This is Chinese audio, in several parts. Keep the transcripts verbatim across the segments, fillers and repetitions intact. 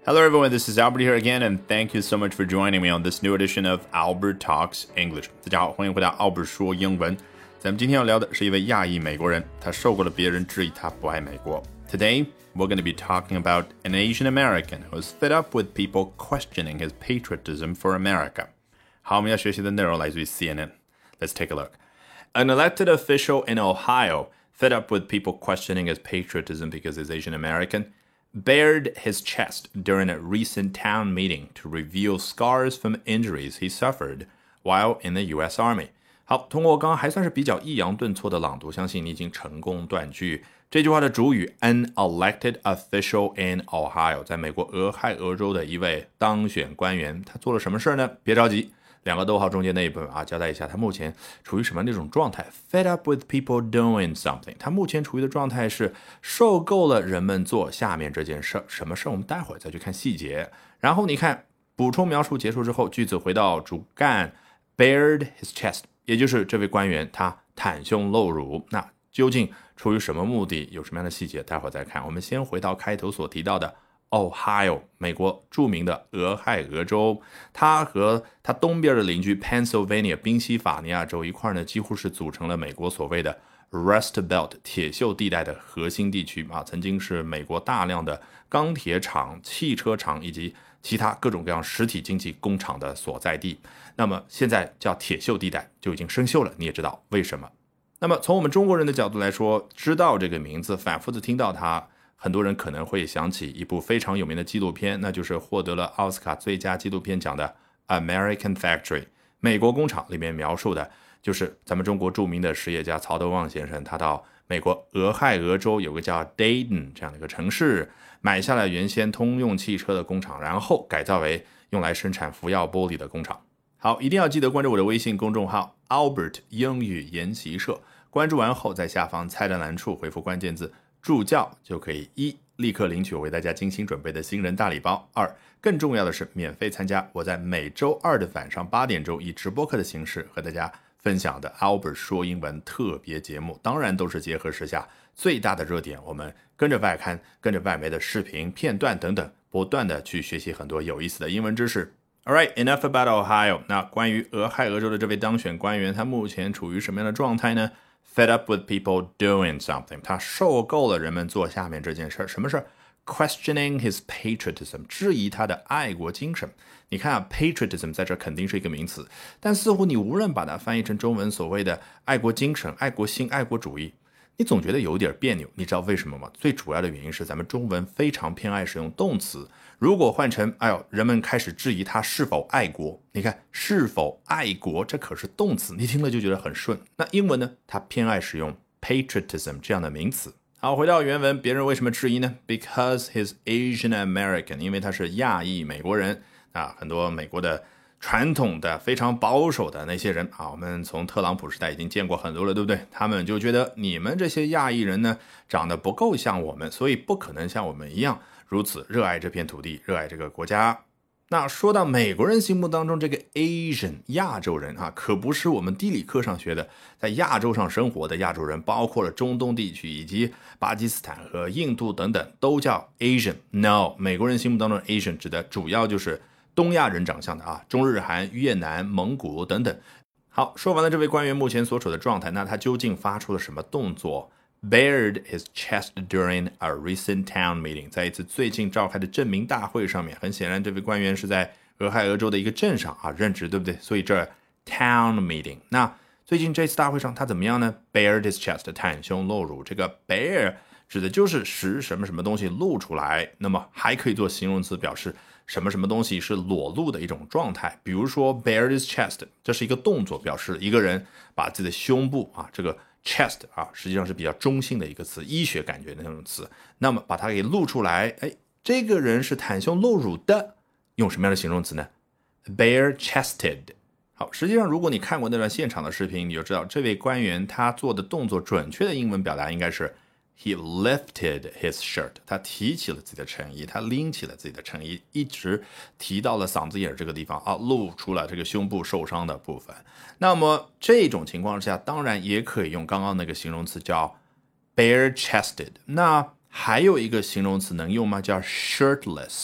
Hello everyone, this is Albert here again, and thank you so much for joining me on this new edition of Albert Talks English. 大家好，欢迎回到 Albert 说英文。咱们今天要聊的是一位亚裔美国人，他受够了别人质疑他不爱美国。Today, we're going to be talking about an Asian American who's fed up with people questioning his patriotism for America. 好，我们要学习的内容来自于 C N N. Let's take a look. An elected official in Ohio, fed up with people questioning his patriotism because he's Asian American,bared his chest during a recent town meeting to reveal scars from injuries he suffered while in the U S Army. 好，通过刚刚还算是比较抑扬顿挫的朗读，相信你已经成功断句。这句话的主语 an elected official in Ohio， 在美国俄亥俄州的一位当选官员，他做了什么事呢？别着急，两个逗号中间那一部分啊，交代一下他目前处于什么样的一种状态。Fed up with people doing something， 他目前处于的状态是受够了人们做下面这件事。什么事？我们待会儿再去看细节。然后你看补充描述结束之后，句子回到主干 bared his chest， 也就是这位官员他袒胸露乳。那究竟出于什么目的？有什么样的细节？待会儿再看。我们先回到开头所提到的Ohio， 美国著名的俄亥俄州，它和它东边的邻居 Pennsylvania 宾夕法尼亚州一块呢，几乎是组成了美国所谓的 Rust Belt 铁锈地带的核心地区啊，曾经是美国大量的钢铁厂、汽车厂以及其他各种各样实体经济工厂的所在地。那么现在叫铁锈地带就已经生锈了，你也知道为什么。那么从我们中国人的角度来说，知道这个名字，反复的听到它，很多人可能会想起一部非常有名的纪录片，那就是获得了奥斯卡最佳纪录片奖的 American Factory 美国工厂，里面描述的就是咱们中国著名的实业家曹德旺先生，他到美国俄亥俄州有个叫 Dayton 这样的一个城市，买下了原先通用汽车的工厂，然后改造为用来生产福耀玻璃的工厂。好，一定要记得关注我的微信公众号 Albert 英语研习社，关注完后在下方菜单栏处回复关键字助教，就可以一立刻领取我为大家精心准备的新人大礼包，二更重要的是免费参加我在每周二的晚上八点钟以直播课的形式和大家分享的 Albert 说英文特别节目，当然都是结合时下最大的热点，我们跟着外刊跟着外媒的视频片段等等，不断的去学习很多有意思的英文知识。Alright, enough about Ohio. 那关于俄亥俄州的这位当选官员，他目前处于什么样的状态呢？Fed up with people doing something， 他受够了人们做下面这件事。什么事？ Questioning his patriotism， 质疑他的爱国精神。你看啊 patriotism 在这肯定是一个名词，但似乎你无论把它翻译成中文所谓的爱国精神、爱国心、爱国主义，你总觉得有点别扭。你知道为什么吗？最主要的原因是咱们中文非常偏爱使用动词，如果换成哎呦，人们开始质疑他是否爱国，你看是否爱国，这可是动词，你听了就觉得很顺。那英文呢，它偏爱使用 patriotism 这样的名词。好，回到原文，别人为什么质疑呢？ Because he's Asian American， 因为他是亚裔美国人啊，很多美国的传统的非常保守的那些人啊，我们从特朗普时代已经见过很多了，对不对？他们就觉得你们这些亚裔人呢，长得不够像我们，所以不可能像我们一样如此热爱这片土地，热爱这个国家。那说到美国人心目当中这个 Asian 亚洲人啊，可不是我们地理课上学的在亚洲上生活的亚洲人，包括了中东地区以及巴基斯坦和印度等等都叫 Asian。 No， 美国人心目当中的 Asian 指的主要就是东亚人长相的啊，中日韩、越南、蒙古等等。好，说完了这位官员目前所处的状态，那他究竟发出了什么动作？Bared his chest during a recent town meeting， 在一次最近召开的镇民大会上面，很显然这位官员是在俄亥俄州的一个镇上啊任职，对不对？所以这 town meeting， 那最近这次大会上他怎么样呢？ Bared his chest， 袒胸露乳。这个 bare 指的就是使什么什么东西露出来，那么还可以做形容词表示什么什么东西是裸露的一种状态。比如说 bared his chest， 这是一个动作，表示一个人把自己的胸部啊，这个chest 啊，实际上是比较中性的一个词，医学感觉的那种词。那么把它给露出来，哎，这个人是袒胸露乳的，用什么样的形容词呢？ bare chested。 好，实际上如果你看过那段现场的视频，你就知道这位官员他做的动作准确的英文表达应该是 he lifted his shirt， 他提起了自己的衬衣，他拎起了自己的衬衣，一直提到了嗓子眼这个地方啊，露出了这个胸部受伤的部分。那么这种情况下，当然也可以用刚刚那个形容词叫 bare chested。 那还有一个形容词能用吗？叫 shirtless。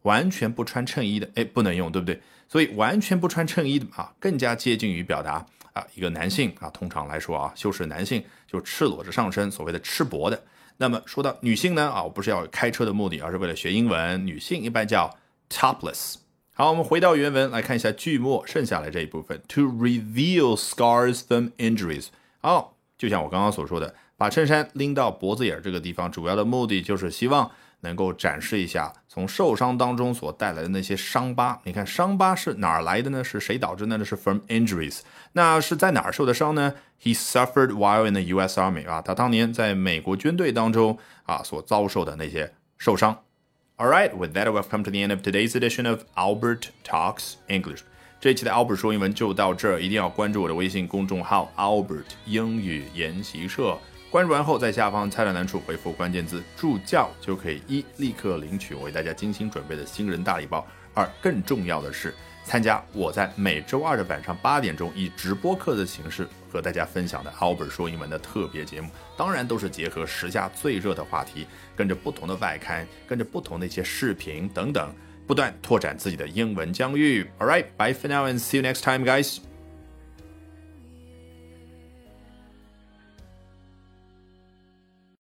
完全不穿衬衣的，哎，不能用，对不对？所以完全不穿衬衣的啊，更加接近于表达啊一个男性啊，通常来说啊，修饰男性就赤裸着上身，所谓的赤膊的。那么说到女性呢啊，我不是要有开车的目的，而是为了学英文，女性一般叫 topless。好，我们回到原文来看一下句末剩下来这一部分 ，to reveal scars from injuries。好，就像我刚刚所说的，把衬衫拎到脖子眼这个地方，主要的目的就是希望能够展示一下从受伤当中所带来的那些伤疤。你看伤疤是哪儿来的呢？是谁导致呢？是 from injuries。那是在哪儿受的伤呢？ He suffered while in the U S Army 啊，他当年在美国军队当中啊所遭受的那些受伤。Alright, with that we've come to the end of today's edition of Albert Talks English。这一期的 Albert 说英文就到这儿，一定要关注我的微信公众号 Albert 英语研习社。关注完后，在下方菜单栏处回复关键字助教，就可以一立刻领取我为大家精心准备的新人大礼包，二更重要的是参加我在每周二的晚上八点钟以直播课的形式和大家分享的 Albert 说英文的特别节目，当然都是结合时下最热的话题，跟着不同的外刊，跟着不同的一些视频等等，不断拓展自己的英文疆域。Alright, bye for now and see you next time, guys.